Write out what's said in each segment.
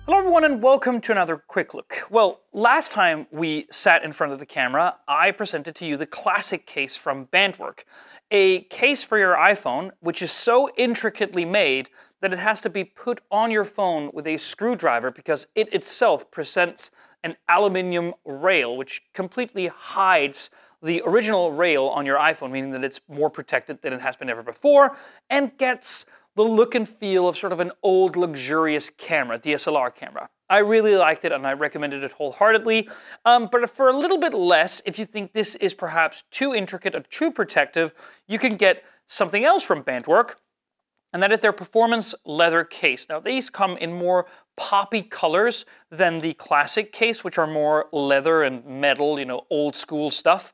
Hello everyone and welcome to another quick look. Well, last time we sat in front of the camera, I presented to you the classic case from Bandwork. A case for your iPhone which is so intricately made that it has to be put on your phone with a screwdriver because it itself presents an aluminium rail which completely hides the original rail on your iPhone, meaning that it's more protected than it has been ever before, and gets the look and feel of sort of an old luxurious camera, DSLR camera. I really liked it and I recommended it wholeheartedly, but for a little bit less, if you think this is perhaps too intricate or too protective, you can get something else from Bandwork, and that is their performance leather case. Now these come in more poppy colors than the classic case, which are more leather and metal, old school stuff.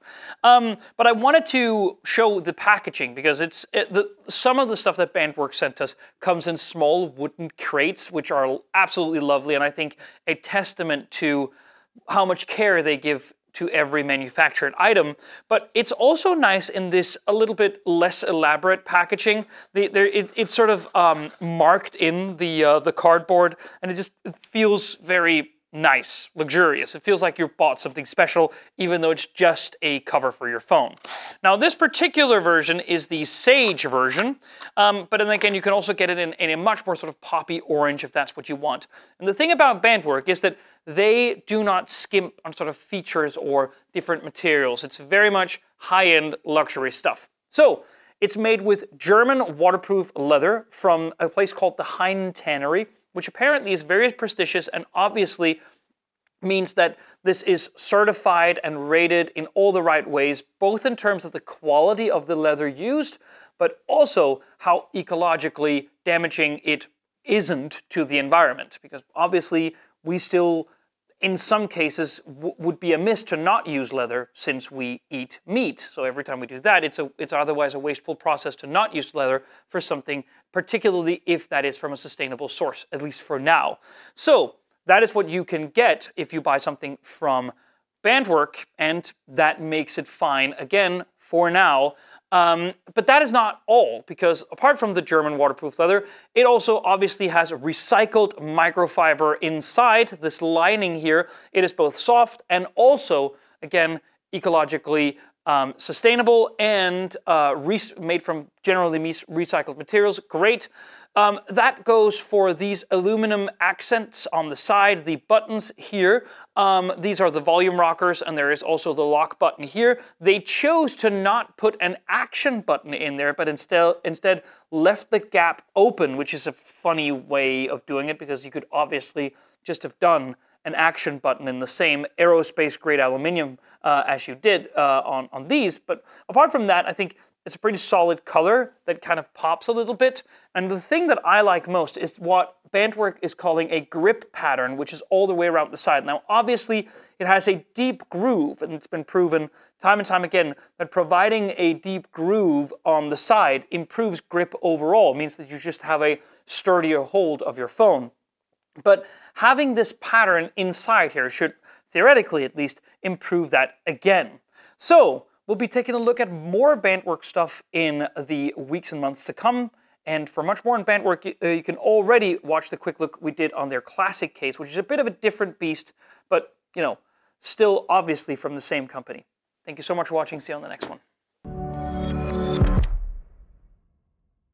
But I wanted to show the packaging because some of the stuff that Bandwork sent us comes in small wooden crates, which are absolutely lovely, and I think a testament to how much care they give to every manufactured item. But it's also nice in this a little bit less elaborate packaging. It's sort of marked in the cardboard, and it feels very nice, luxurious. It feels like you bought something special, even though it's just a cover for your phone. Now, this particular version is the Sage version, but then again, you can also get it in a much more sort of poppy orange if that's what you want. And the thing about Bandwork is that they do not skimp on sort of features or different materials. It's very much high-end luxury stuff. So, it's made with German waterproof leather from a place called the Hein Tannery, which apparently is very prestigious and obviously means that this is certified and rated in all the right ways, both in terms of the quality of the leather used, but also how ecologically damaging it isn't to the environment. Because obviously we still, in some cases, would be amiss to not use leather since we eat meat. So every time we do that, it's otherwise a wasteful process to not use leather for something, particularly if that is from a sustainable source, at least for now. So that is what you can get if you buy something from Bandwork, and that makes it fine, again, for now. But that is not all, because apart from the German waterproof leather, it also obviously has recycled microfiber inside this lining here. It is both soft and also, again, ecologically sustainable and made from generally recycled materials. Great. That goes for these aluminum accents on the side, the buttons here. These are the volume rockers, and there is also the lock button here. They chose to not put an action button in there, but instead left the gap open, which is a funny way of doing it because you could obviously just have done an action button in the same aerospace grade aluminium as you did on these. But apart from that, I think it's a pretty solid color that kind of pops a little bit. And the thing that I like most is what Bandwork is calling a grip pattern, which is all the way around the side. Now, obviously, it has a deep groove, and it's been proven time and time again that providing a deep groove on the side improves grip overall. It means that you just have a sturdier hold of your phone. But having this pattern inside here should, theoretically at least, improve that again. So, we'll be taking a look at more Bandwork stuff in the weeks and months to come. And for much more on Bandwork, you can already watch the quick look we did on their classic case, which is a bit of a different beast, but, still obviously from the same company. Thank you so much for watching. See you on the next one.